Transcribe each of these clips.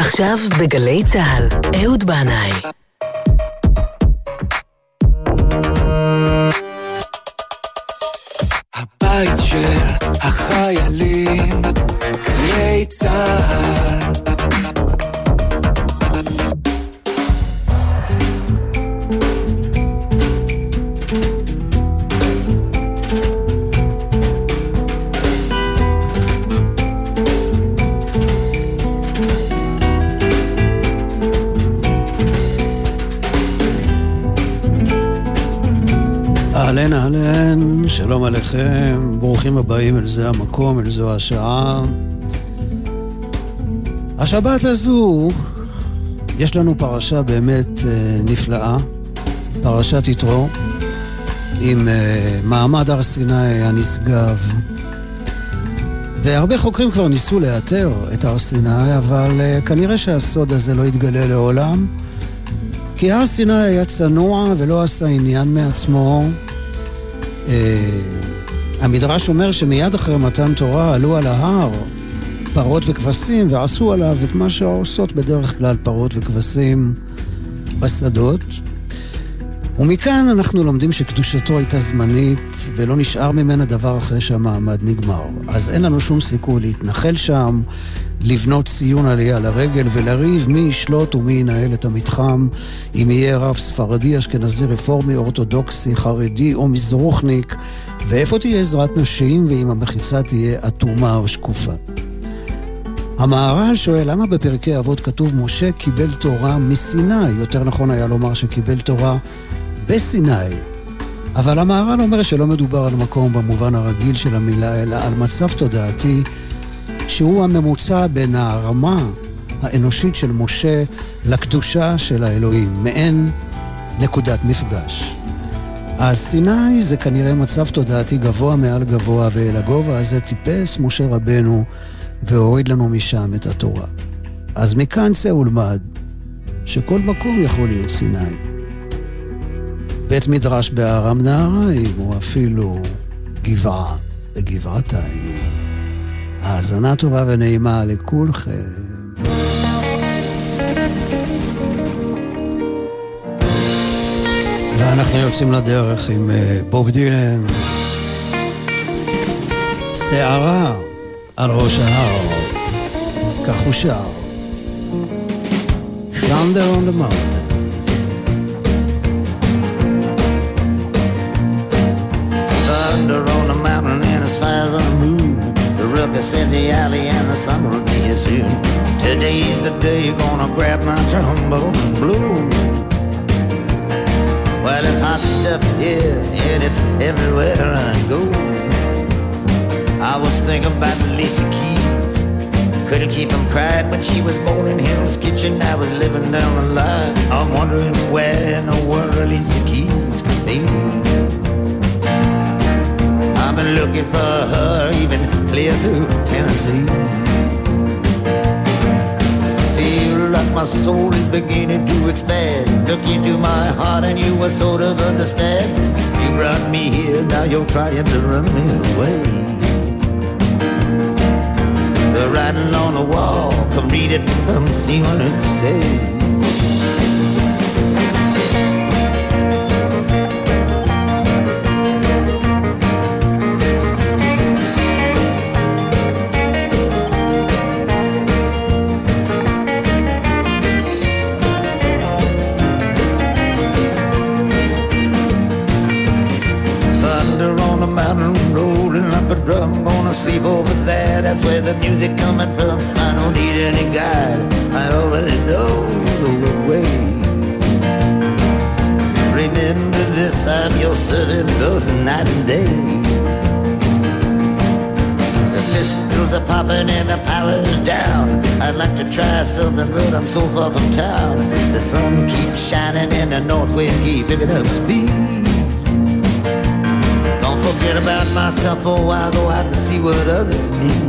עכשיו בגלי צהל, אהוד בנאי. הבית של החיילים, גלי צהל. אהלן אהלן, שלום עליכם, ברוכים הבאים אל זה המקום, אל זו השעה. השבת הזו יש לנו פרשה באמת נפלאה, פרשת יתרו, עם מעמד הר סיני הנשגב. והרבה חוקרים כבר ניסו לאתר את הר סיני, אבל כנראה שהסוד הזה לא יתגלה לעולם, כי הר סיני היה צנוע ולא עשה עניין מעצמו. המדרש אומר שמיד אחרי מתן תורה עלו על ההר פרות וכבשים ועשו עליו את מה שעושות בדרך כלל פרות וכבשים בשדות. ומכאן אנחנו לומדים שקדושתו הייתה זמנית ולא נשאר ממנה דבר אחרי שהמעמד נגמר. אז אין לנו שום סיכוי להתנחל שם, לבנות ציון עלייה לרגל ולריב מי ישלוט ומי ינהל את המתחם, אם יהיה רב ספרדי, אשכנזי, רפורמי, אורתודוקסי, חרדי או מזרוחניק, ואיפה תהיה עזרת נשים ואם המחיצה תהיה אטומה או שקופה. המהר"ל שואל למה בפרקי אבות כתוב משה קיבל תורה מסיני, יותר נכון היה לומר שקיבל תורה בסיני, אבל המהר"ל אומר שלא מדובר על מקום במובן הרגיל של המילה, אלא על מצב תודעתי שהוא הממוצע בין הרמה האנושית של משה לקדושה של האלוהים, מעין נקודת מפגש. אז סיני זה כנראה מצב תודעתי גבוה מעל גבוה, ואל הגובה הזה טיפס משה רבנו והוריד לנו משם את התורה. אז מכאן צא ולמד שכל מקום יכול להיות סיני. בית מדרש בארם נהריים או אפילו גבעה בגבעתיים. האזנה טובה ונעימה לכולכם. ואנחנו יוצאים לדרך עם בוב דילן. שערה על ראש ההר, כך הוא שר. Thunder on the mountain. Thunder on the mountain and as far as the moon. The ruckus in the alley and the sun will be here soon. Today's the day you're gonna grab my trombone and blow. Well, it's hot stuff here and it's everywhere I go. I was thinking about Alicia Keys. Couldn't keep from crying when she was born in Hell's Kitchen. I was living down the line. I'm wondering where in the world Alicia Keys could be. I've been looking for her even clear through Tennessee. Feel like my soul is beginning to expand. Look into my heart and you will sort of understand. You brought me here, now you're trying to run me away. The writing on the wall, come read it, come see what it says. Sleep over there, that's where the music coming from. I don't need any guide, I already know the way. Remember this, I'm your servant both night and day. The pistols are popping and the power's down. I'd like to try something but I'm so far from town. The sun keeps shining and the north wind keeps picking up speed. Forget about myself for a while, go out and see what others need.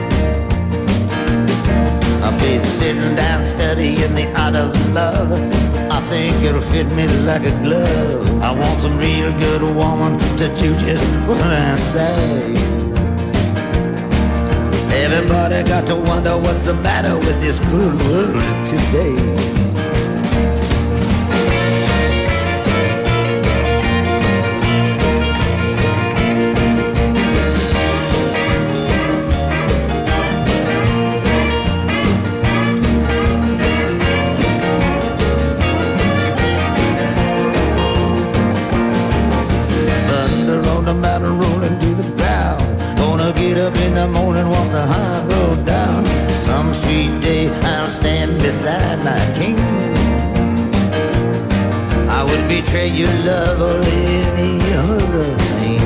I've been sitting down studying the art of love. I think it'll fit me like a glove. I want some real good woman to do just what I say. Everybody got to wonder what's the matter with this cruel world today. In the morning, walk the high road down. Some sweet day I'll stand beside my king. I wouldn't betray your love or any other thing.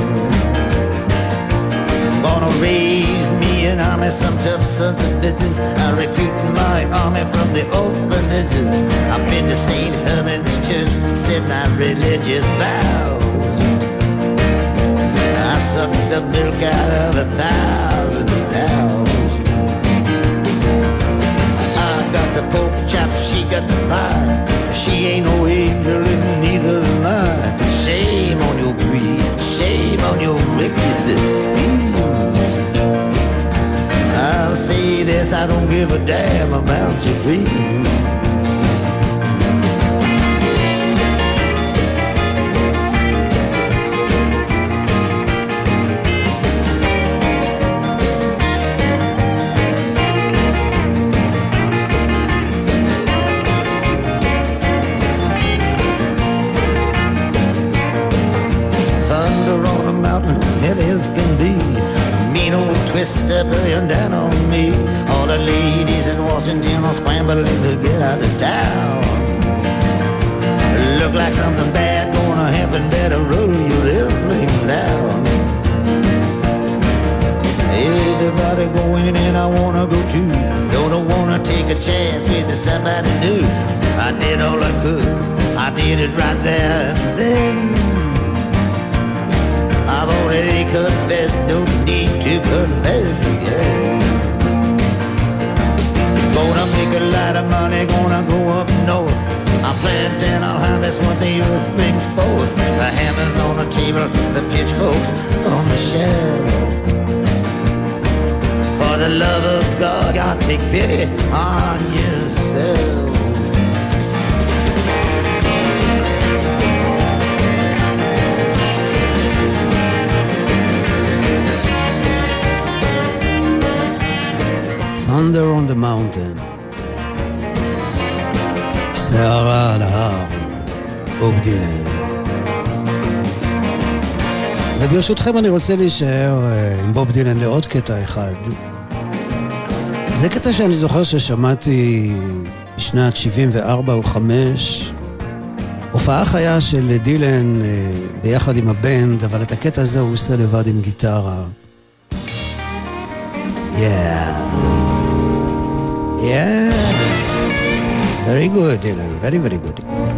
Gonna raise me an army, some tough sons of bitches. I'll recruit my army from the orphanages. I've been to St. Herman's Church, said my religious vows. I sucked the milk out of 1,000 cows. I got the pork chop, she got the pie. She ain't no angel and neither am I. Shame on your greed, shame on your wicked schemes. I'll say this, I don't give a damn about your dreams. Twister burning down on me. All the ladies in Washington are scrambling to get out of town. Look like something bad gonna happen. Better roll your airplane down. Everybody going and I wanna go too. Don't wanna take a chance with somebody new. I did all I could, I did it right there and then. I've already confessed, no need to confess again. Gonna make a lot of money, gonna go up north. I'll plant and I'll harvest what the earth brings forth. The hammers on the table, the pitchforks on the shelf. For the love of God, God, take pity on yourself. Thunder on the Mountain. שערה על ההר, בוב דילן. וברשותכם אני רוצה להישאר עם בוב דילן לעוד קטע אחד. זה קטע שאני זוכר ששמעתי בשנת 74 או 5. הופעה חיה של דילן ביחד עם הבנד, אבל את הקטע הזה הוא עושה לבד עם גיטרה. Yeah, very good, Dylan, very very good.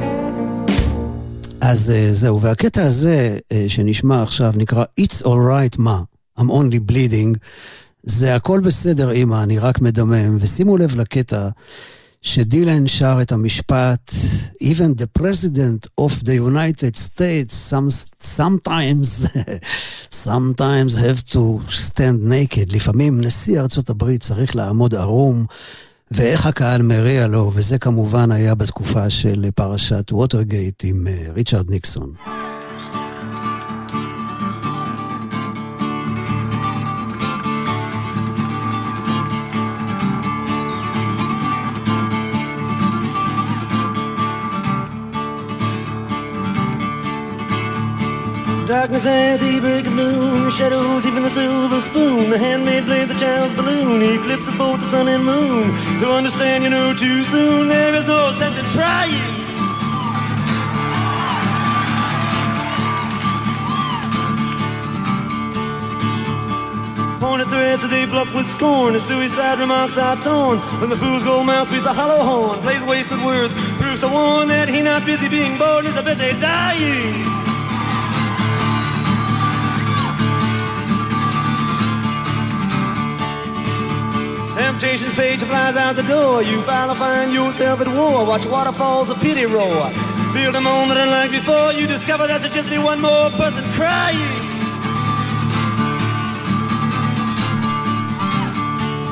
אז זהו, והקטע הזה שנשמע עכשיו נקרא It's Alright Ma, I'm Only Bleeding. זה הכל בסדר אמא, אני רק מדמם. ושימו לב לקטע שדילן שר את המשפט Even the President of the United States sometimes have to stand naked. לפעמים נשיא ארצות הברית צריך לעמוד ערום, ואיך הקהל מריע לו, וזה כמובן היה בתקופה של פרשת ווטרגייט עם ריצ'רד ניקסון. Darkness at the break of noon, shadows even the silver spoon, the handmaid played the child's balloon, eclipses both the sun and moon. They'll understand you know too soon, there is no sense in trying. Pointed threads that they bluff with scorn, the suicide remarks are torn, when the fool's gold mouth beats a hollow horn, plays wasted words, proves the one that he not busy being born, is a busy dying. Temptation's page flies out the door. You finally find yourself at war. Watch waterfalls of pity roar. Feel the moment unlike before. You discover that should just be one more person crying.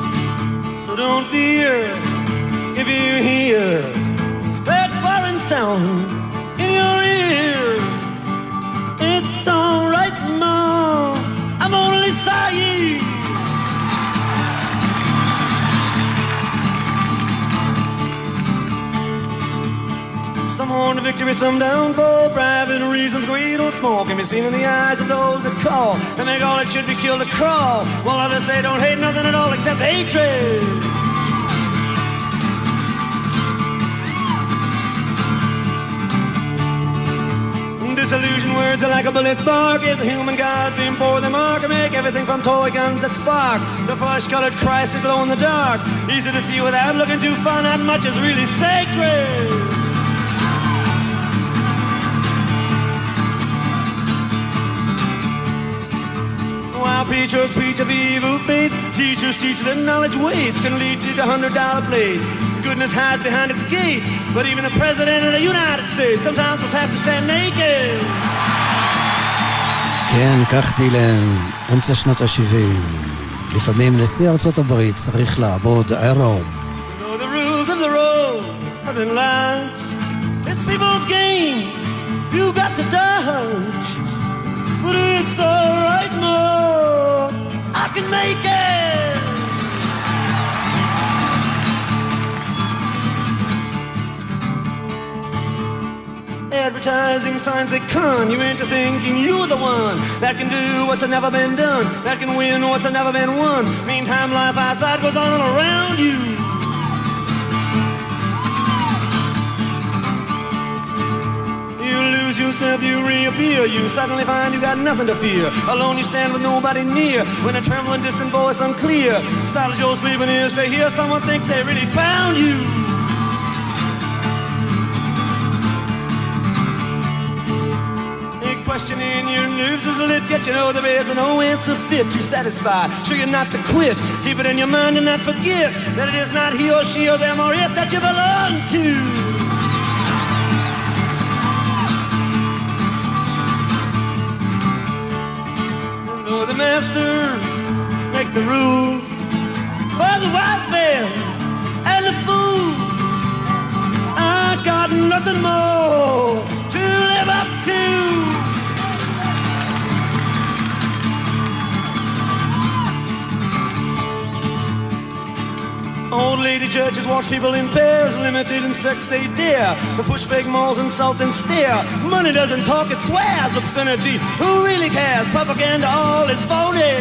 So don't fear if you hear that foreign sound in your ear. It's all right, Mom, I'm only sorry. Some on victory, some down for private reasons. Greed or small can be seen in the eyes of those that call and make all that should be killed to crawl, while others say don't hate nothing at all except hatred. Disillusioned words are like a bullet spark. As the human gods aim for the mark and make everything from toy guns that spark. The flesh-colored Christ that glow in the dark. Easy to see without looking too far. Not much is really sacred. While preachers preach of evil fates, teachers teach that knowledge waits can lead you to $100 plates. Goodness hides behind its gates, but even the President of the United States sometimes must have to stand naked. כן, כך דילן, אמצע שנות ה-70. לפעמים נשיא ארצות הברית צריך לעבוד עירום. The rules of the road have been launched. It's people's games you got to dodge. But it's alright, Mo, I can make it. Advertising signs they con you into thinking you're the one that can do what's never been done, that can win what's never been won. Meantime, life outside goes on around you. You lose yourself, you reappear. You suddenly find you got nothing to fear. Alone you stand with nobody near. When a trembling distant voice unclear startles your sleeping ears to hear someone thinks they really found you. Questioning your nerves is lit, yet you know there is no answer fit to satisfy. Sure you're not to quit, keep it in your mind and not forget that it is not he or she or them or it that you belong to. And though the masters make the rules for the wise men and the fools, I got nothing more to live up to. Old lady judges watch people in pairs, limited in sex they dare. The push fake malls insult and stare. Money doesn't talk, it swears. Obscenity, who really cares? Propaganda, all is phony.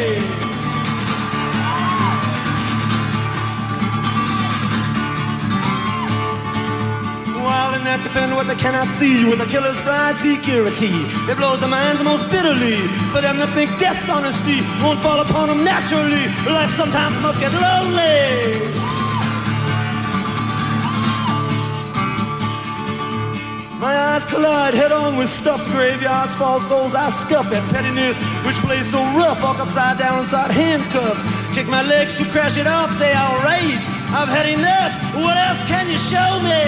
While in that defend what they cannot see, with a killer's pride security, it blows the minds most bitterly. For them that think death's honesty won't fall upon them naturally, life sometimes must get lonely. My eyes collide head-on with stuffed graveyards, false goals I scuff at pettiness, which plays so rough, walk upside down inside handcuffs, kick my legs to crash it off, say I'll rage, I've had enough, what else can you show me?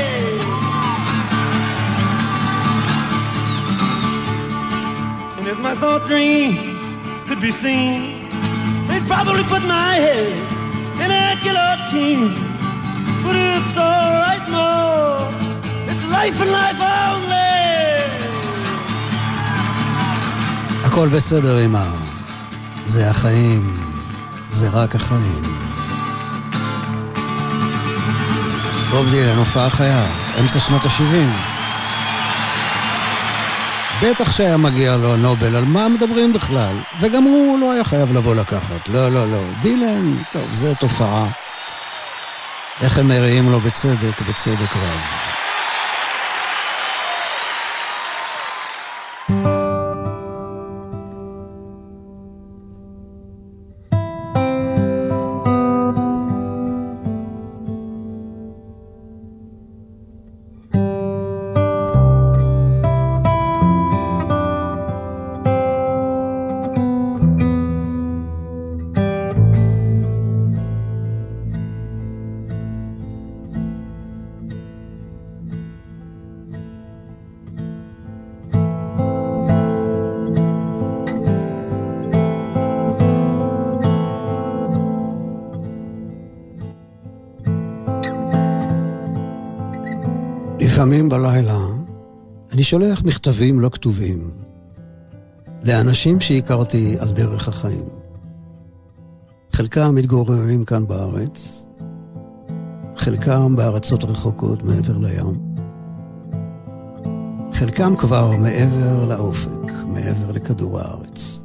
And if my thought dreams could be seen, they'd probably put my head in a guillotine. But it's alright, no, it's life and life only. הכל בסדר אמא, זה החיים, זה רק החיים. בוב דילן, הופעה חיה, אמצע שנות ה-70. בטח שהיה מגיע לו נובל, על מה מדברים בכלל? וגם הוא לא היה חייב לבוא לקחת. לא, לא, לא. דילן, טוב, זה תופעה. איך הם מראים לו בצדק, בצדק רב. לפעמים בלילה אני שולח מכתבים לא כתובים לאנשים שהכרתי על דרך החיים. חלקם מתגוררים כאן בארץ, חלקם בארצות רחוקות מעבר לים, חלקם כבר מעבר לאופק, מעבר לכדור הארץ.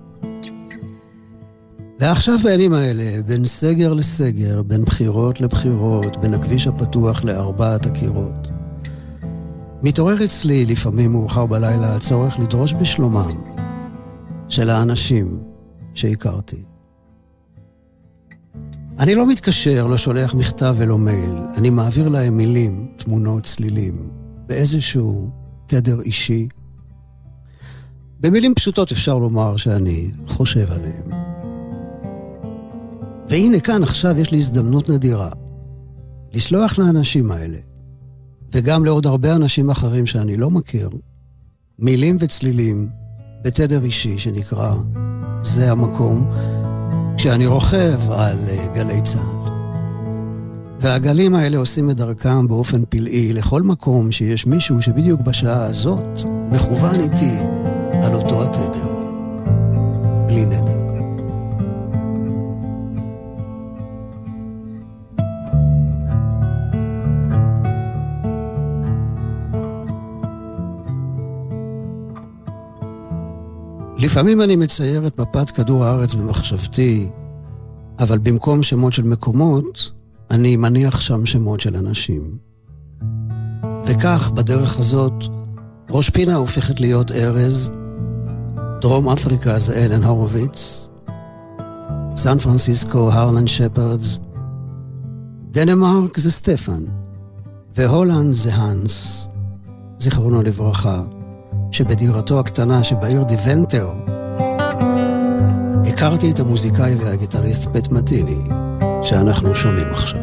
ועכשיו בימים האלה, בין סגר לסגר, בין בחירות לבחירות, בין הכביש הפתוח לארבעת הקירות, מתעורר אצלי לפעמים מאוחר בלילה הצורך לדרוש בשלומם של האנשים שהכרתי. אני לא מתקשר, לא שולח מכתב ולא מייל, אני מעביר להם מילים, תמונות, צלילים, באיזשהו תדר אישי. במילים פשוטות אפשר לומר שאני חושב עליהם. והנה כאן עכשיו יש לי הזדמנות נדירה לשלוח לאנשים האלה, וגם לעוד הרבה אנשים אחרים שאני לא מכיר, מילים וצלילים בתדר אישי שנקרא זה המקום, כשאני רוכב על גלי צהל. והגלים האלה עושים את דרכם באופן פלאי לכל מקום שיש מישהו שבדיוק בשעה הזאת מכוון איתי על אותו התדר. בלי נדר. לפעמים אני מצייר את מפת כדור הארץ במחשבתי, אבל במקום שמות של מקומות, אני מניח שם שמות של אנשים. וכך, בדרך הזאת, ראש פינה הופכת להיות ארז, דרום אפריקה זה אלן הורוביץ, סן פרנסיסקו הרלן שפרדס, דנמרק זה סטפן, והולנד זה הנס, זיכרונו לברכה, שבדירתו הקטנה שבעיר דיוונטר הכרתי את המוזיקאי והגיטריסט פט מטיני שאנחנו שומעים עכשיו.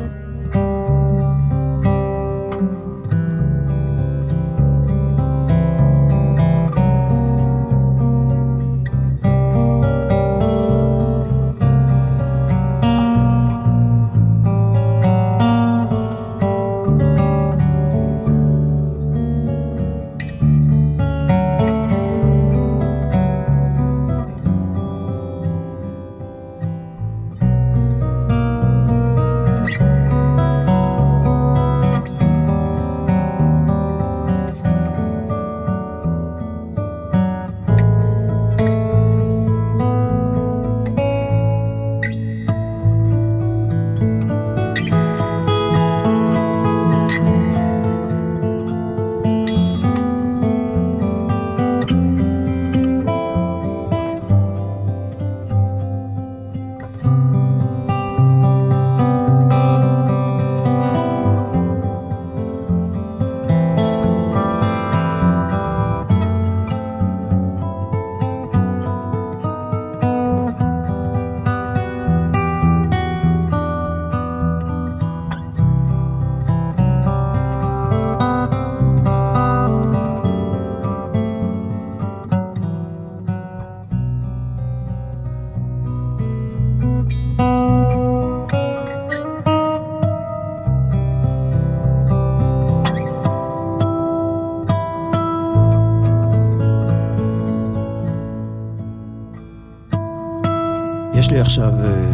יש לי עכשיו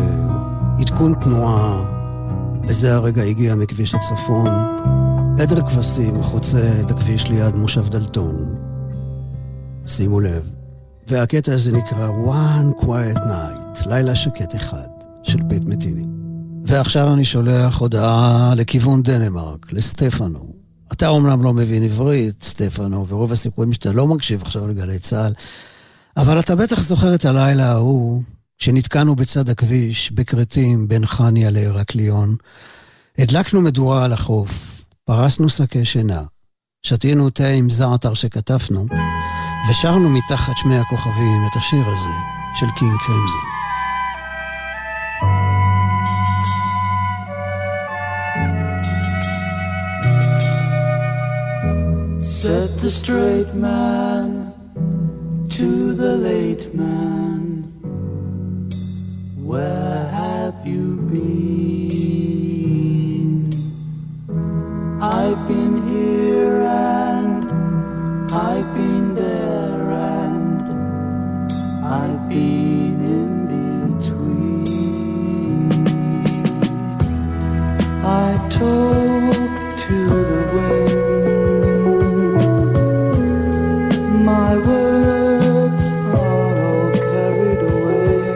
עדכון תנועה, בזה הרגע הגיע מכביש הצפון, עדר כבשים חוצה את הכביש ליד מושב דלתון. שימו לב, והקטע הזה נקרא One Quiet Night, לילה שקט אחד, של פט מטיני. ועכשיו אני שולח הודעה לכיוון דנמרק, לסטפנו. אתה אומנם לא מבין עברית, סטפנו, ורוב הסיפורים שאתה לא מקשיב עכשיו לגלי צהל, אבל אתה בטח זוכר את הלילה ההוא, שנתקענו בצד הכביש, בקרטים, בין חניה להרקליון. הדלקנו מדורה על החוף, פרסנו שקי שינה, שתינו תה עם זעתר שכתפנו, ושרנו מתחת שמי הכוכבים את השיר הזה של קינג קרימזון. Set the straight man to the late man. Where have you been? I've been here talk to the wind. My words are all carried away.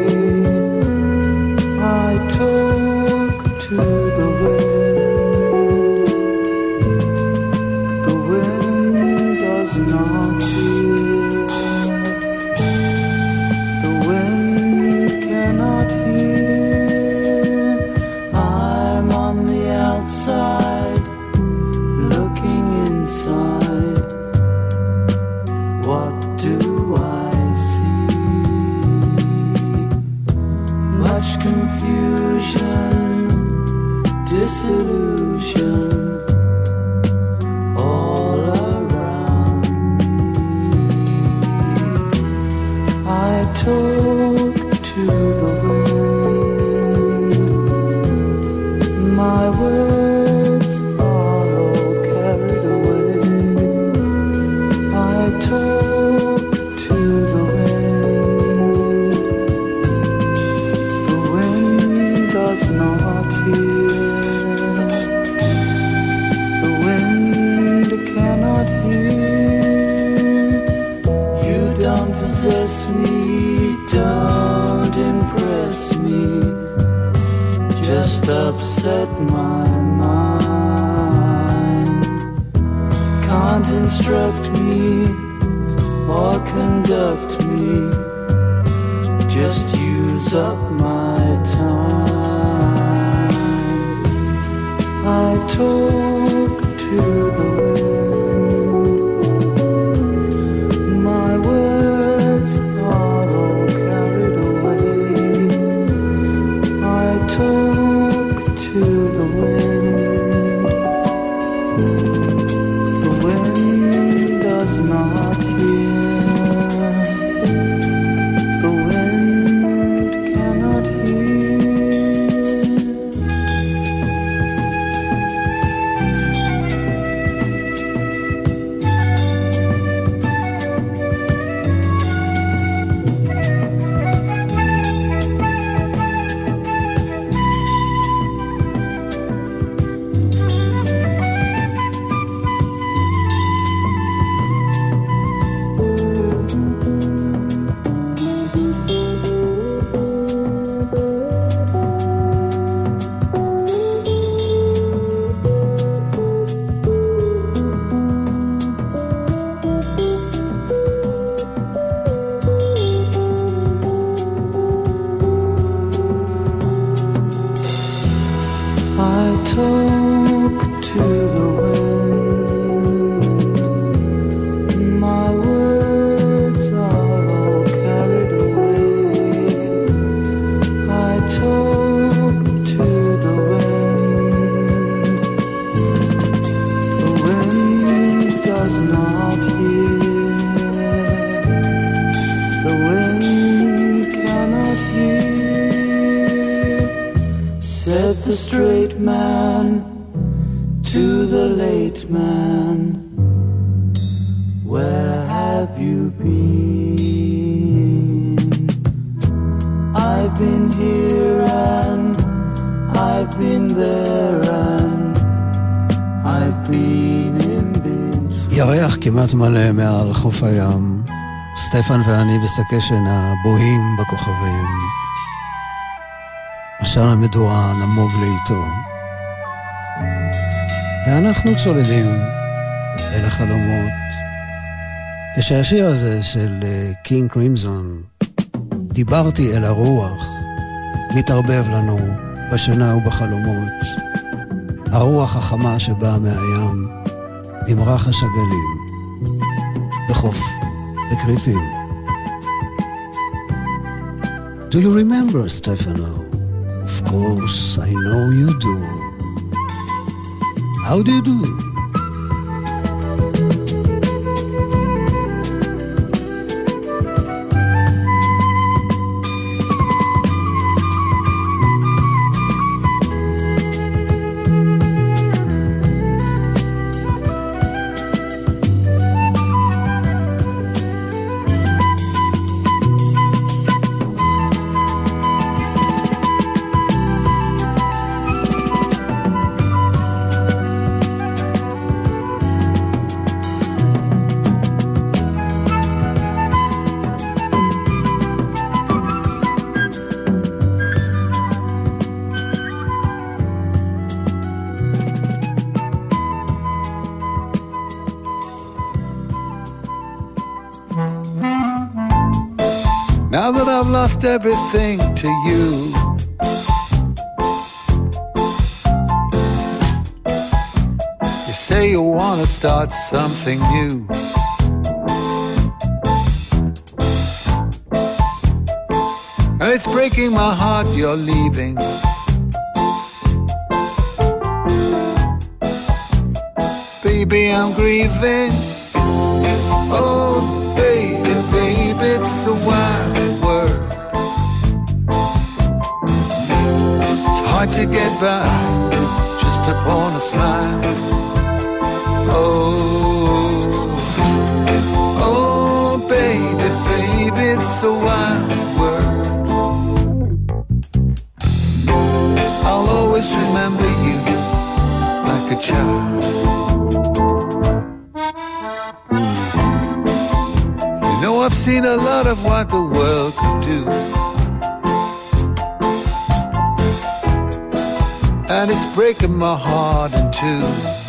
I talk to the wind. The wind does not hear. The wind cannot hear. I'm on the outside, looking inside. What do I see? Much confusion, disillusion, all around me. I talk to the wind. My words are all carried away. I talk to the wind. The wind does not hear. The wind cannot hear. You don't possess me, don't impress me. Just upset my mind. Can't instruct me or conduct me. Just use up my time. I talk to the wind. My words are all carried away. I talk to the wind. The wind does not hear. The wind cannot hear. I talk to the wind. My words are all carried away. I talk to the wind. The wind does not hear. The wind cannot hear. Said the straight man to the late man, where have you been? I've been here and I've been there and I've been in between. ירח כמעט מלא מעל חוף הים, סטפן ואני בשקי שינה בוהים בכוכבים. עשן המדורה נמוג לאיתו, ואנחנו צוללים אל החלומות. כשהשיר הזה של קינג קרימזון, דיברתי אל הרוח, מתערבב לנו בשינה ובחלומות. הרוח החמה שבאה מהים עם רחש הגלים בחוף בקריטים. Do you remember, Stefano? Of course, I know you do. How do you do? I've lost everything to you. You say you want to start something new. And it's breaking my heart you're leaving. Baby, I'm grieving. Oh, baby, baby, it's a wild world. It's hard to get by just upon a smile. Oh, oh, baby, baby, it's a wild world. I'll always remember you like a child. I've seen a lot of what the world could do, and it's breaking my heart in two.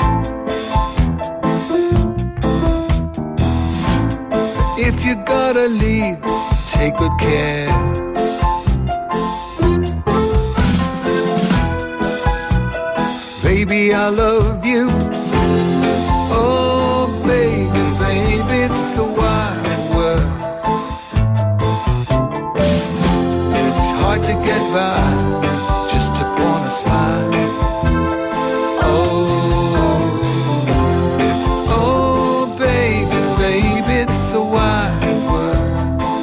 If you gotta leave, take good care. Baby, I love you. Oh, baby, baby, it's a wild. To get by just upon a smile. Oh, oh, baby, baby, it's a wide world.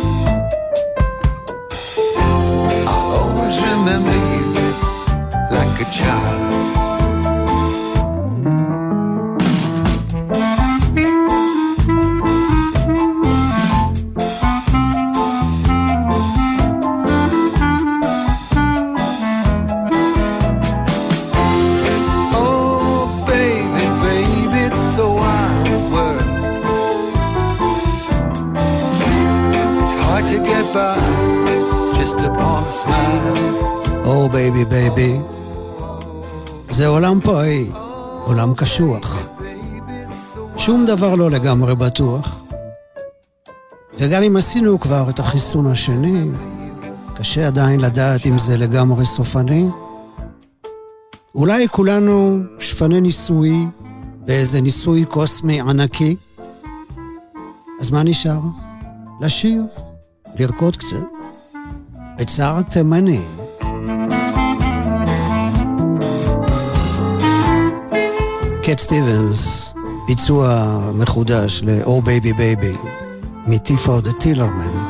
I'll always remember you like a child. Oh baby baby, זה עולם פראי, עולם קשוח, שום דבר לא לגמרי בטוח, וגם אם עשינו כבר את החיסון השני, קשה עדיין לדעת אם זה לגמרי סופני. אולי כולנו שפני ניסוי באיזה ניסוי קוסמי ענקי. אז מה נשאר? לשיר, לרקוד קצת בצער תימני. קט סטיבנס, ביצוע מחודש ל-Oh Baby Baby מטיפו דה טילרמן.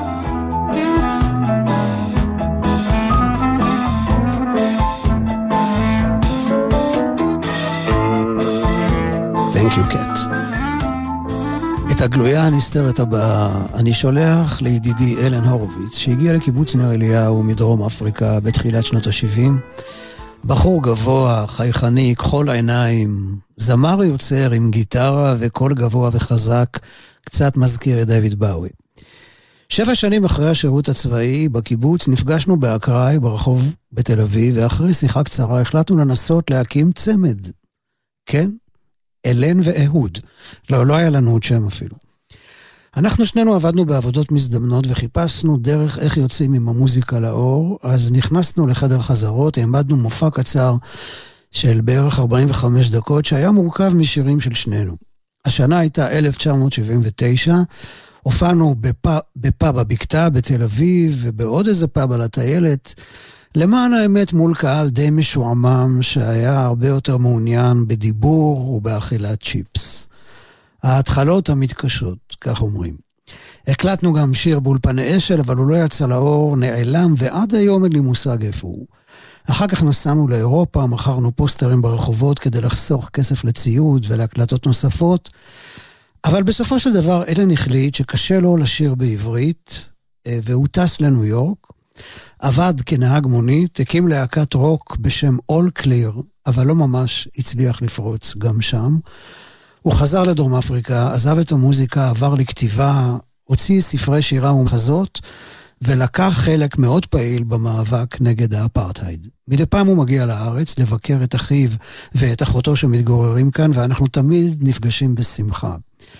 Thank you, קט. את הגלויה הנסתרת הבאה אני שולח לידידי אלן הורוביץ, שהגיע לקיבוץ נר אליהו מדרום אפריקה בתחילת שנות ה-70. בחור גבוה, חייכני, כחול העיניים, זמר יוצר עם גיטרה וקול גבוה וחזק, קצת מזכיר את דויד באוי. 7 שנים אחרי השירות הצבאי בקיבוץ נפגשנו באקראי ברחוב בתל אביב, ואחרי שיחה קצרה החלטנו לנסות להקים צמד. כן? אלן ואהוד. לא היה לנו עוד שם אפילו. אנחנו שנינו עבדנו בעבודות מזדמנות וחיפשנו דרך איך יוצאים עם המוזיקה לאור, אז נכנסנו לחדר חזרות, העמדנו מופע קצר של בערך 45 דקות, שהיה מורכב משירים של שנינו. השנה הייתה 1979, הופענו בפאב הבקתה בתל אביב, ובעוד איזה פאב על הטיילת, למען האמת מול קהל די משועמם, שהיה הרבה יותר מעוניין בדיבור ובאכילת צ'יפס. ההתחלות המתקשות, כך אומרים. הקלטנו גם שיר באולפני אשל, אבל הוא לא יצא לאור, נעלם, ועד היום אין לי מושג איפה הוא. אחר כך נסענו לאירופה, מכרנו פוסטרים ברחובות כדי לחסוך כסף לציוד ולהקלטות נוספות, אבל בסופו של דבר אלן החליט שקשה לו לשיר בעברית, והוא טס לניו יורק, עבד כנהג מונית, הקים להקת רוק בשם All Clear, אבל לא ממש הצליח לפרוץ גם שם. הוא חזר לדרום אפריקה, עזב את המוזיקה, עבר לכתיבה, הוציא ספרי שירה ומחזות, ולקח חלק מאוד פעיל במאבק נגד האפרטהייד. מדי פעם הוא מגיע לארץ לבקר את אחיו ואת אחותו שמתגוררים כאן, ואנחנו תמיד נפגשים בשמחה.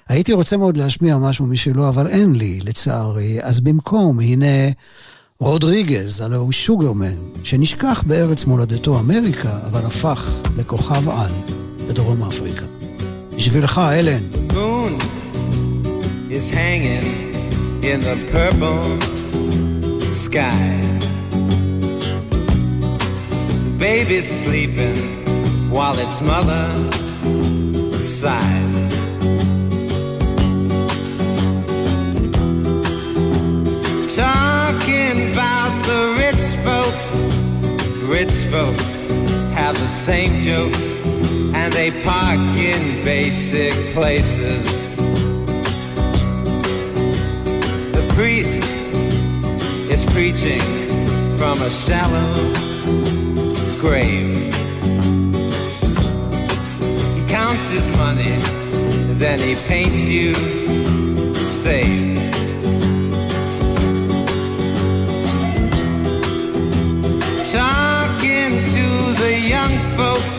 הייתי רוצה מאוד להשמיע משהו משלו, אבל אין לי, לצערי. אז במקום, הנה רודריגז, הלוא הוא שוגרמן, שנשכח בארץ מולדתו אמריקה, אבל הפך לכוכב על בדרום אפריקה. בשבילך, אלן. Moon is hanging in the purple sky. The baby's sleeping while its mother sighs. Talking about the rich folks have the same jokes, and they park in basic places. The priest is preaching from a shallow grave. He counts his money, then he paints you safe. Talking to the young folks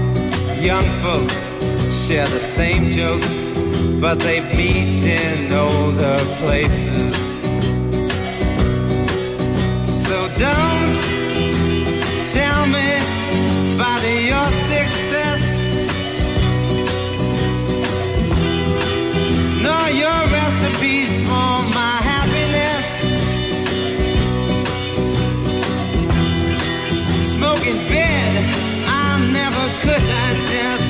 share the same jokes, but they meet in older places. So don't tell me about your success, nor your recipes for my happiness. Smoking bed, I never could digest.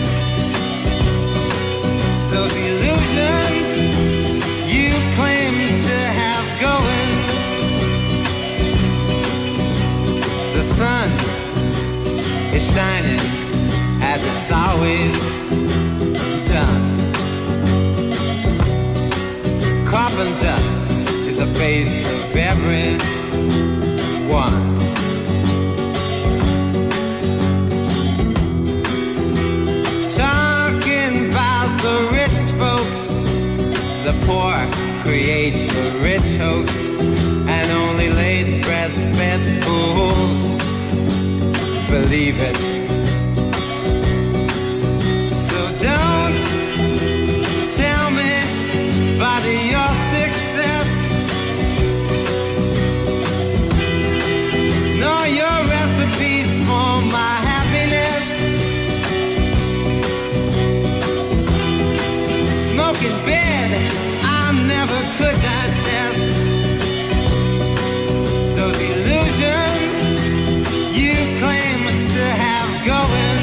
Those illusions you claim to have going. The sun is shining as it's always done. Carbon dust is a face of everyone. Talking about the rich folks, the poor create the rich hoax, and only laid breastfed fools believe it. So don't tell me about your success, nor your recipes for my happiness. Smoking bed, I never could digest. Those illusions you claim to have going.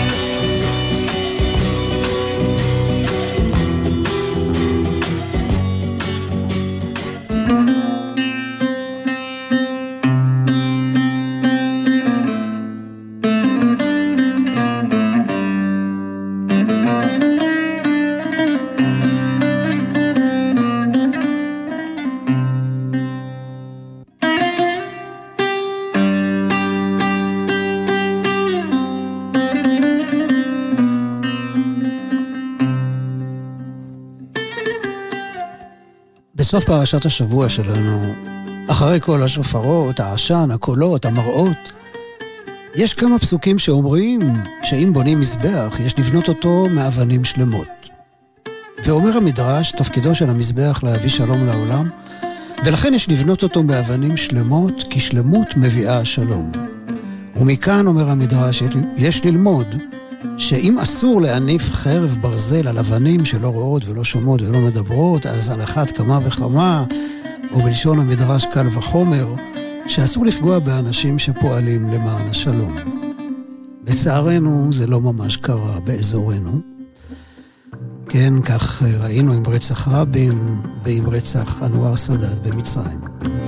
בסוף פרשת השבוע שלנו, אחרי כל השופרות, העשן, הקולות, המראות, יש כמה פסוקים שאומרים שאם בונים מזבח, יש לבנות אותו מאבנים שלמות. ואומר המדרש, תפקידו של המזבח להביא שלום לעולם, ולכן יש לבנות אותו מאבנים שלמות, כי שלמות מביאה שלום. ומכאן אומר המדרש, יש ללמוד שאם אסור להניף חרב ברזל על אבנים שלא רואות ולא שומעות ולא מדברות, אז על אחת כמה וכמה, או בלשון המדרש קל וחומר, שאסור לפגוע באנשים שפועלים למען השלום. לצערנו זה לא ממש קרה באזורנו. כן, כך ראינו עם רצח רבין ועם רצח אנואר סאדאת במצרים.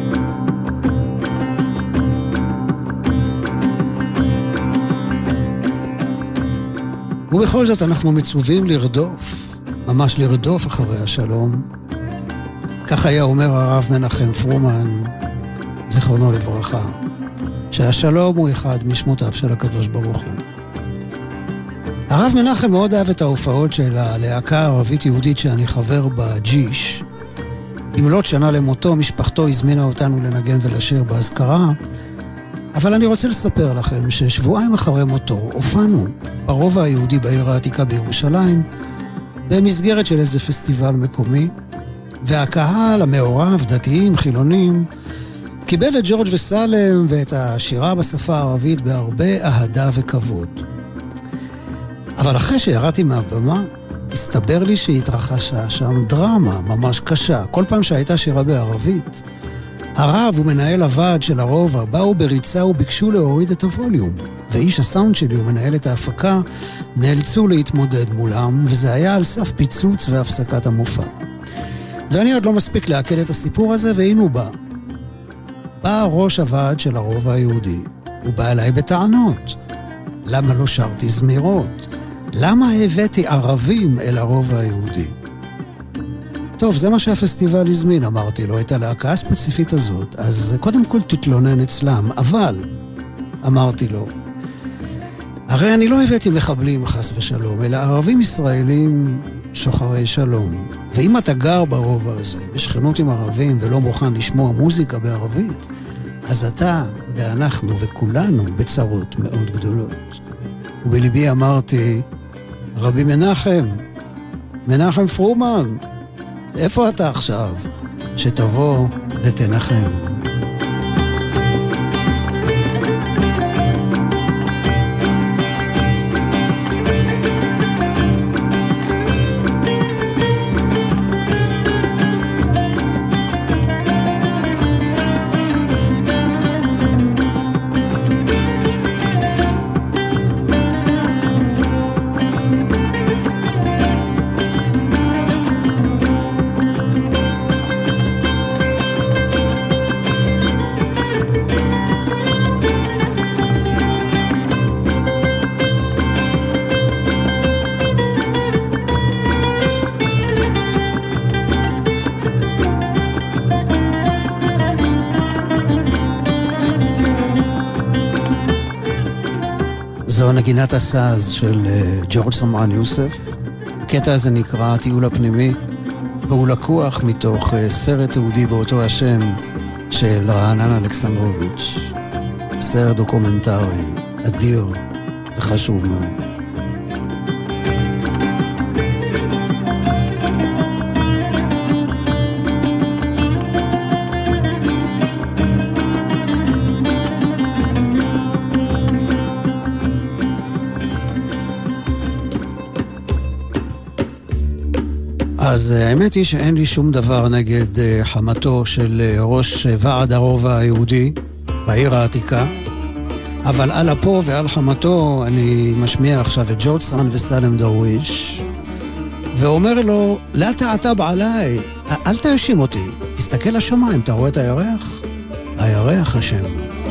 ובכל זאת אנחנו מצווים לרדוף, ממש לרדוף אחרי השלום. כך היה אומר הרב מנחם פרומן, זיכרונו לברכה, שהשלום הוא אחד משמותיו של הקדוש ברוך הוא. הרב מנחם מאוד אהב את ההופעות של הלהקה הערבית יהודית שאני חבר בה, ג'יש. במלאת שנה למותו, משפחתו הזמינה אותנו לנגן ולשיר בהזכרה, אבל אני רוצה לספר לכם ששבועיים אחרי מותו הופענו ברובע היהודי בעיר העתיקה בירושלים, במסגרת של איזה פסטיבל מקומי, והקהל המעורב, דתיים, חילונים, קיבל את ג'ורג' וסלם ואת השירה בשפה הערבית בהרבה אהדה וכבוד. אבל אחרי שירדתי מהבמה, הסתבר לי שהתרחשה שם דרמה ממש קשה. כל פעם שהייתה שירה בערבית, הרב ומנהל הוועד של הרובע באו בריצה וביקשו להוריד את הווליום. ואיש הסאונד שלי ומנהלת ההפקה נאלצו להתמודד מולם, וזה היה על סף פיצוץ והפסקת המופע. ואני עוד לא מספיק להקל את הסיפור הזה, והנה הוא בא. בא ראש הוועד של הרובע היהודי, הוא בא אליי בטענות. למה לא שרתי זמירות? למה הבאתי ערבים אל הרובע היהודי? טוב, זה מה שהפסטיבל הזמין, אמרתי לו, את הלהקה הספציפית הזאת, אז קודם כל תתלונן אצלם, אבל, אמרתי לו, הרי אני לא הבאתי מחבלים חס ושלום, אלא ערבים ישראלים שוחרי שלום. ואם אתה גר ברובע הזה, בשכנות עם ערבים ולא מוכן לשמוע מוזיקה בערבית, אז אתה ואנחנו וכולנו בצרות מאוד גדולות. ובליבי אמרתי, רבי מנחם פרומן, איפה אתה עכשיו? שתבוא ותנחם. זו נגינת הסאז של ג'ורג' סמרן יוסף. הקטע הזה נקרא טיול הפנימי, והוא לקוח מתוך סרט תיעודי באותו השם של רענן אלכסנדרוביץ'. סרט דוקומנטרי אדיר וחשוב מאוד. אז האמת היא שאין לי שום דבר נגד חמתו של ראש ועד הרובע היהודי בעיר העתיקה, אבל על אפו ועל חמתו אני משמיע עכשיו את ג'ורג' סרן וסלם דרוויש, ואומר לו, לא תעתב עליי, אל תאשים אותי, תסתכל לשמיים, אתה רואה את הירח? הירח השם.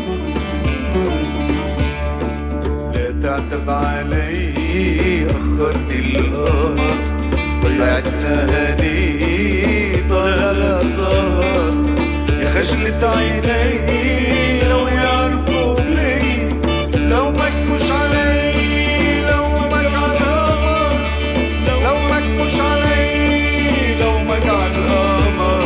لا تعتب علي أخرت القمر ضيعتنا هدي طلع السهر يا خجلة عيني لو يعرفوا لي لو مكوش علي لو مك على القمر لو مكوش علي لو مك على القمر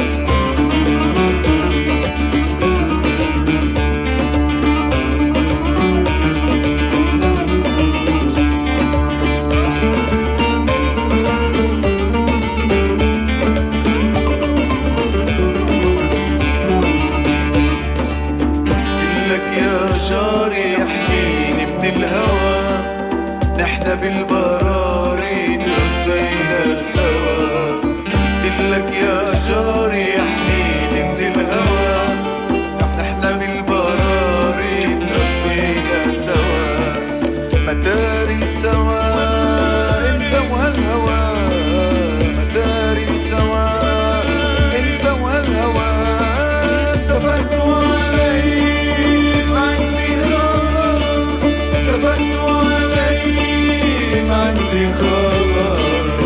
بالبراري تربينا سوا قلتلك يا جاري احميني من الهوى نحنا بالبراري تربينا سوا مداري سوا انت وهالهوى مداري سوا انت وهالهوى اتفقتوا علي ما عندي خبر اتفقتوا عندي خبر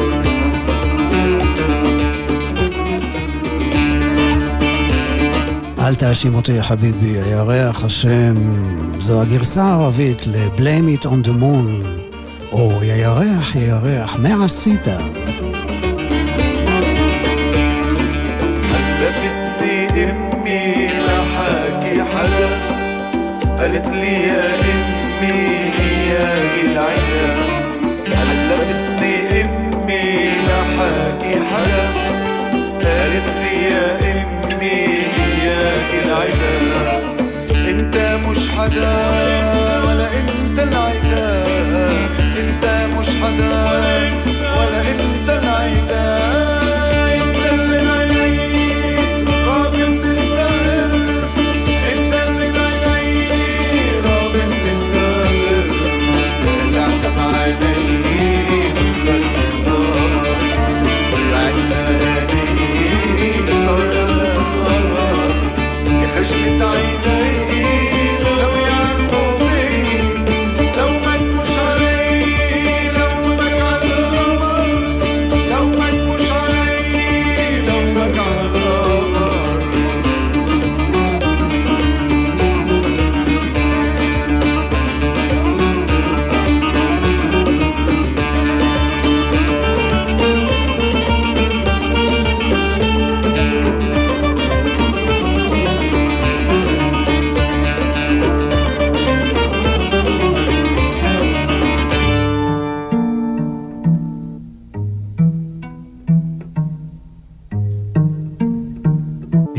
אל תאשים אותי יא חביבי, הירח השם. זו הגרסה הערבית ל-Blame It on the Moon, או ירח ירח, מה עשית? حلفتني امي لحاكي حدا قالت لي يا امي هي العيله حلفتني امي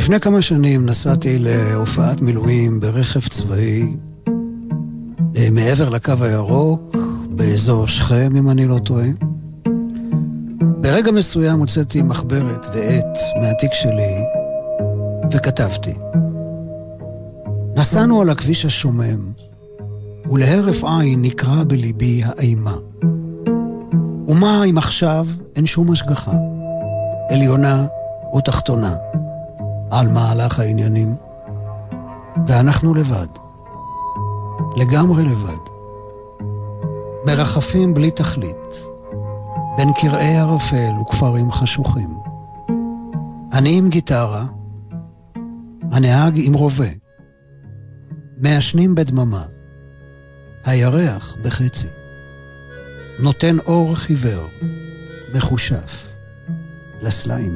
לפני כמה שנים נסעתי להופעת מילואים ברכב צבאי מעבר לקו הירוק, באזור שכם, אם אני לא טועה. ברגע מסוים הוצאתי מחברת ועט מהתיק שלי וכתבתי. נסענו על הכביש השומם, ולהרף עין נקרא בליבי האימה. ומה אם עכשיו אין שום השגחה, עליונה או תחתונה, על מהלך העניינים? ואנחנו לבד, לגמרי לבד, מרחפים בלי תכלית, בין קרעי ערפל וכפרים חשוכים. אני עם גיטרה, הנהג עם רובה, מעשנים בדממה, הירח בחצי, נותן אור חיוור, מחושף, לסלעים.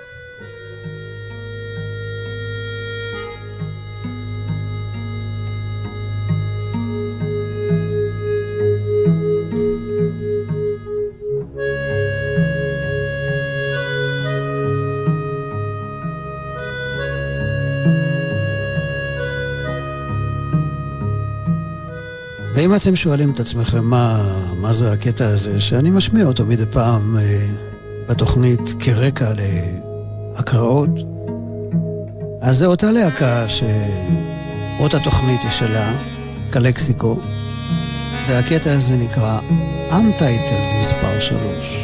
ואם אתם שואלים את עצמכם מה זה הקטע הזה, שאני משמיע אותו מדי פעם בתוכנית כרקע להקראות, אז זה אותה להקה שאותה תוכנית יש שלה, קלקסיקו, והקטע הזה נקרא Untitled מספר 3.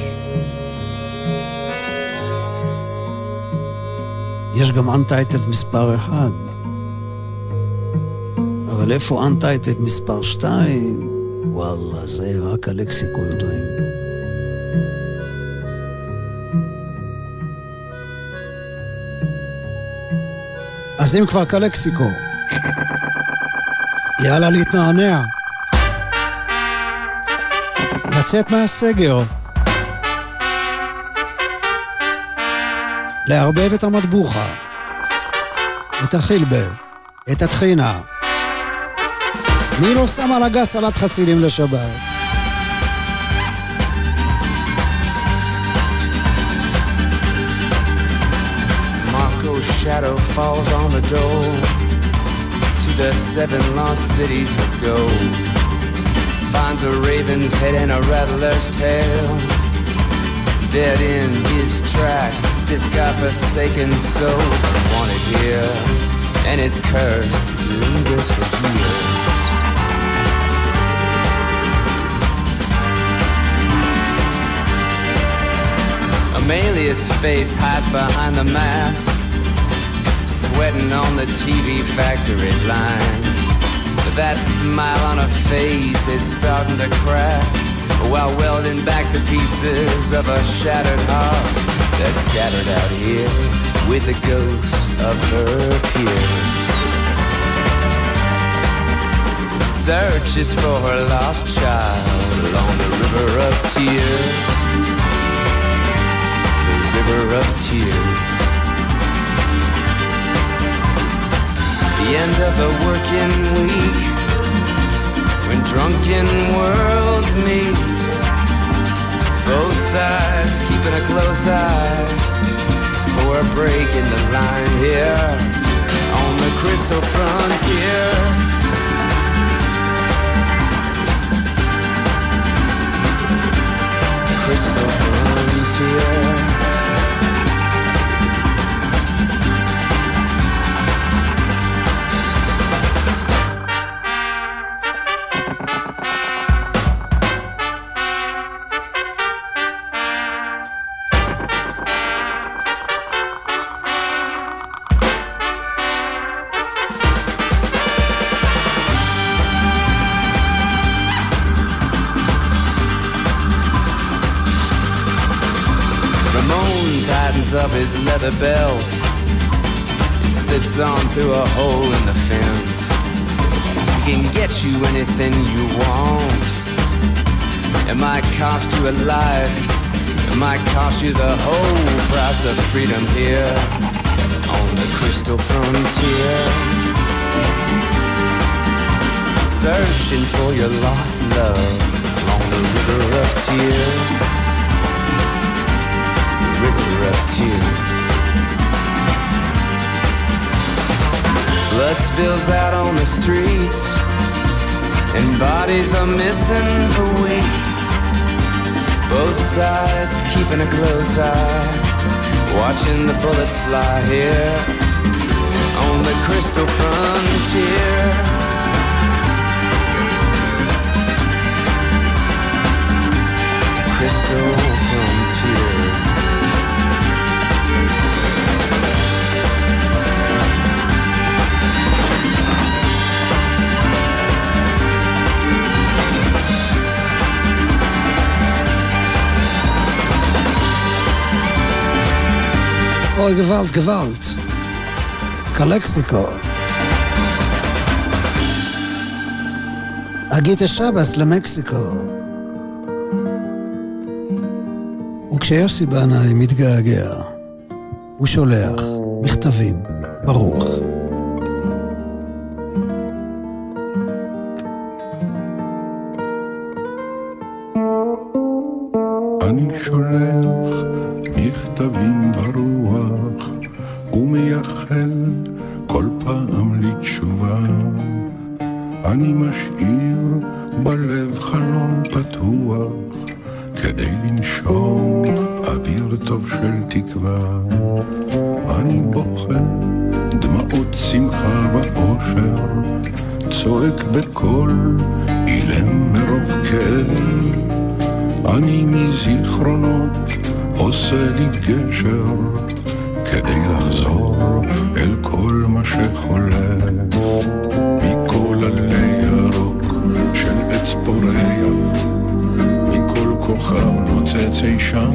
יש גם Untitled מספר 1, אבל איפה Untitled מספר 2? וואלה, זה רק הלקסיקו יודעים. אז אם כבר כלקסיקו, יאללה להתנענע, לצאת מהסגר, לערבב את המטבוחה, את החילבה, את התחינה. מי לא שם על הגס סלט חצילים לשבת? Marco's shadow falls on the door to the 7 lost cities of gold. Finds a raven's head and a rattler's tail, dead in his tracks, this godforsaken soul wanted here, and his curse lingers for years. Amelia's face hides behind the mask, sweating on the TV factory line. But that smile on her face is starting to crack, while welding back the pieces of a shattered heart that's scattered out here with the ghosts of her peers. Searches for her lost child along the river of tears. River of tears. The end of the working week, when drunken worlds meet, both sides keeping a close eye for a break in the line here on the crystal frontier. Crystal frontier. Up his leather belt, he slips on through a hole in the fence. He can get you anything you want. It might cost you a life, it might cost you the whole price of freedom here on the crystal frontier. Searching for your lost love along the river of tears. River of tears. Blood spills out on the streets, and bodies are missing for weeks. Both sides keeping a close eye, watching the bullets fly here on the crystal frontier. Crystal frontier. אוי, גוואלט, גוואלט. קלקסיקו. אגית השבס למקסיקו. וכשיוסי בנאי מתגעגע, הוא שולח מכתבים ברוך. אני שולח מכתבים ברוח ומייחל כל פעם לתשובה. אני משאיר בלב חלון פתוח כדי לנשום אוויר טוב של תקווה. אני בוכה דמעות שמחה באושר, צועק בקול אילם מרוב כאב. אני מזיכרונות עושה לי גשר כדי לחזור אל כל מה שחולף. מכל עלי ירוק של עץ פורח, מכל כוכב נוצץ אי שם,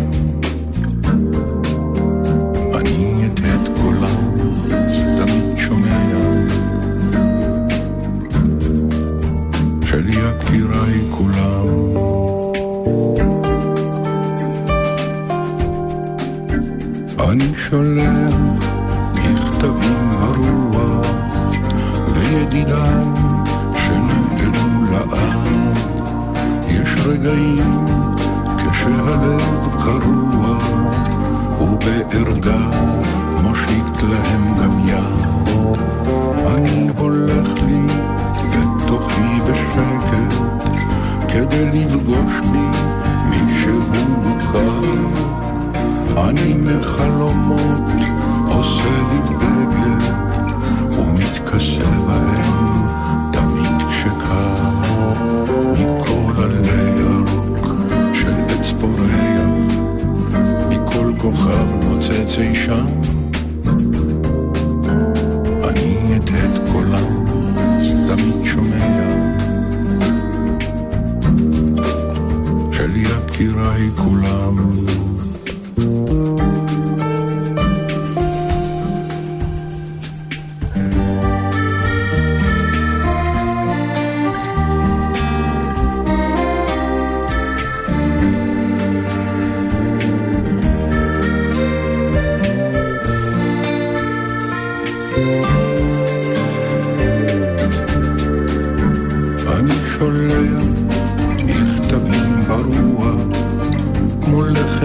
אני את קולם תמיד שומע של יקיריי כולם. אני שולח מכתבים ברוח לידידיי שנעלמו לעם. יש רגעים כשהלב קרוע ובערגה מושיט להם גם יד. אני הולך לי בתוכי בשקט כדי לפגוש בי מישהו מוכר. אני מחלומות עושה לי בגד ומתכסה בהם תמיד כשקר. מכל עלי ירוק של עץ פורח, מכל כוכב נוצץ אי שם, אני את קולם תמיד שומע של יקיריי כולם. שולח מכתבים ברוח כמו לחם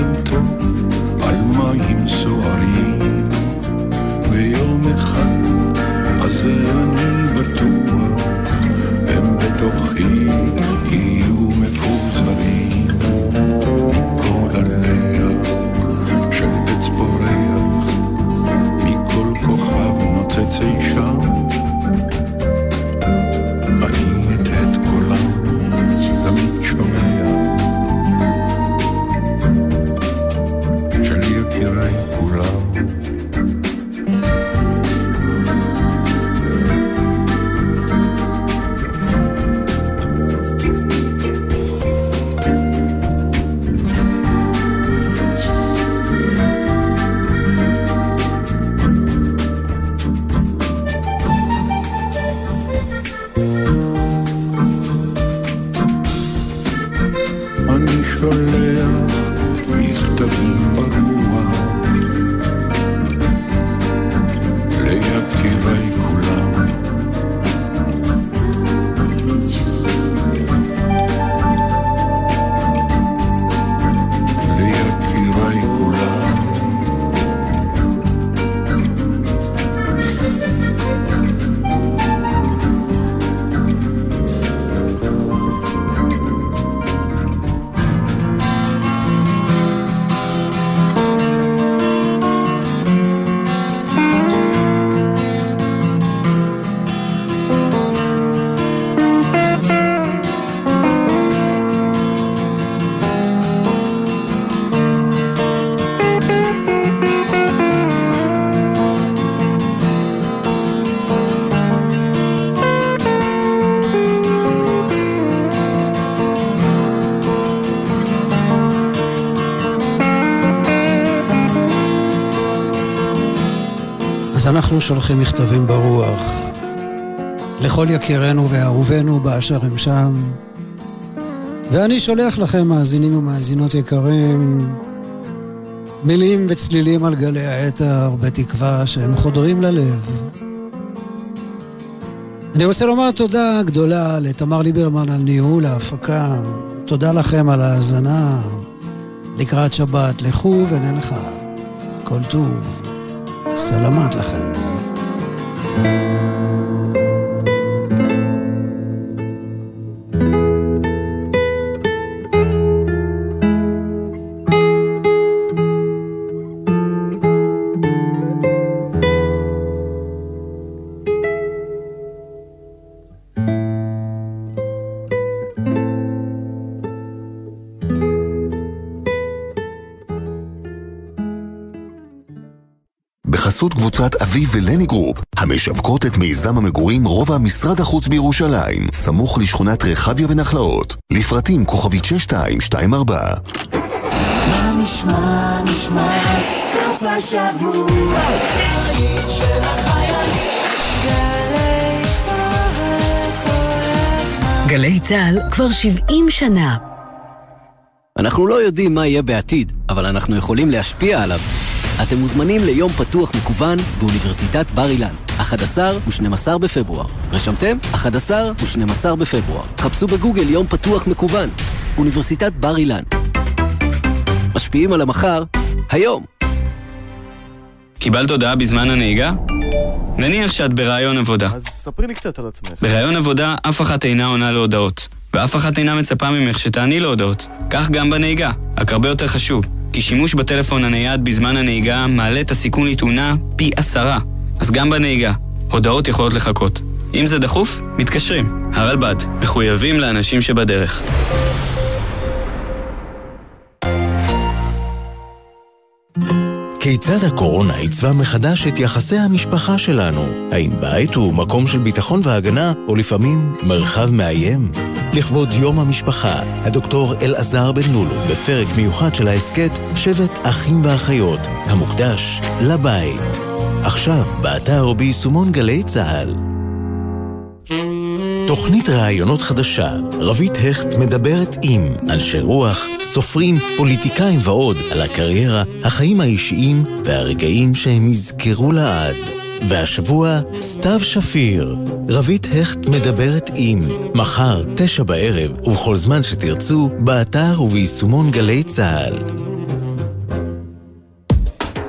אנחנו שולחים מכתבים ברוח לכל יקירנו ואהובינו באשר הם שם, ואני שולח לכם מאזינים ומאזינות יקרים מילים וצלילים על גלי האתר בתקווה שהם חודרים ללב. אני רוצה לומר תודה גדולה לתמר ליברמן על ניהול ההפקה. תודה לכם על ההאזנה. לקראת שבת לכו ונלכה כל טוב. סלמת לכם. בחסות קבוצת אביב ולני גרופ, המשווקות את מיזם המגורים רובע משרד החוץ בירושלים, סמוך לשכונת רחביה ונחלאות. לפרטים כוכבית 6224. מה נשמע, נשמע, סוף השבוע, העיר של החיילים. גלי צהל כל הזמן. גלי צהל כבר 70 שנה. אנחנו לא יודעים מה יהיה בעתיד, אבל אנחנו יכולים להשפיע עליו. אתם מוזמנים ליום פתוח מקוון באוניברסיטת בר אילן, 11 ו-12 בפברואר. רשמתם? 11 ו-12 בפברואר. חפשו בגוגל יום פתוח מקוון. אוניברסיטת בר אילן. משפיעים על המחר, היום. קיבלת הודעה בזמן הנהיגה? נניח שאת ברעיון עבודה. אז ספרי לי קצת על עצמך. ברעיון עבודה אף אחת אינה עונה להודעות, ואף אחת אינה מצפה ממך שתעני להודעות. כך גם בנהיגה, רק הרבה יותר חשוב. כי שימוש בטלפון הנייד בזמן הנהיגה מעלה את הסיכון לתאונה פי 10. אז גם בנהיגה, הודעות יכולות לחכות. אם זה דחוף, מתקשרים. הרלב"ד, מחויבים לאנשים שבדרך. כיצד הקורונה עיצבה מחדש את יחסי המשפחה שלנו? האם בית הוא מקום של ביטחון והגנה, או לפעמים מרחב מאיים? לכבוד יום המשפחה, הדוקטור אלעזר בן לולו, בפרק מיוחד של העסקת שבט אחים ואחיות, המוקדש לבית. עכשיו, באתר או ביישומון גלי צהל. תוכנית רעיונות חדשה, רבית הכט מדברת עם אנשי רוח, סופרים, פוליטיקאים ועוד על הקריירה, החיים האישיים והרגעים שהם יזכרו לעד. והשבוע, סתיו שפיר, רבית הכט מדברת עם, מחר 9 בערב ובכל זמן שתרצו, באתר וביישומון גלי צהל.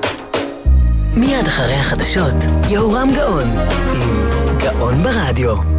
מיד אחרי החדשות, יהורם גאון עם גאון ברדיו.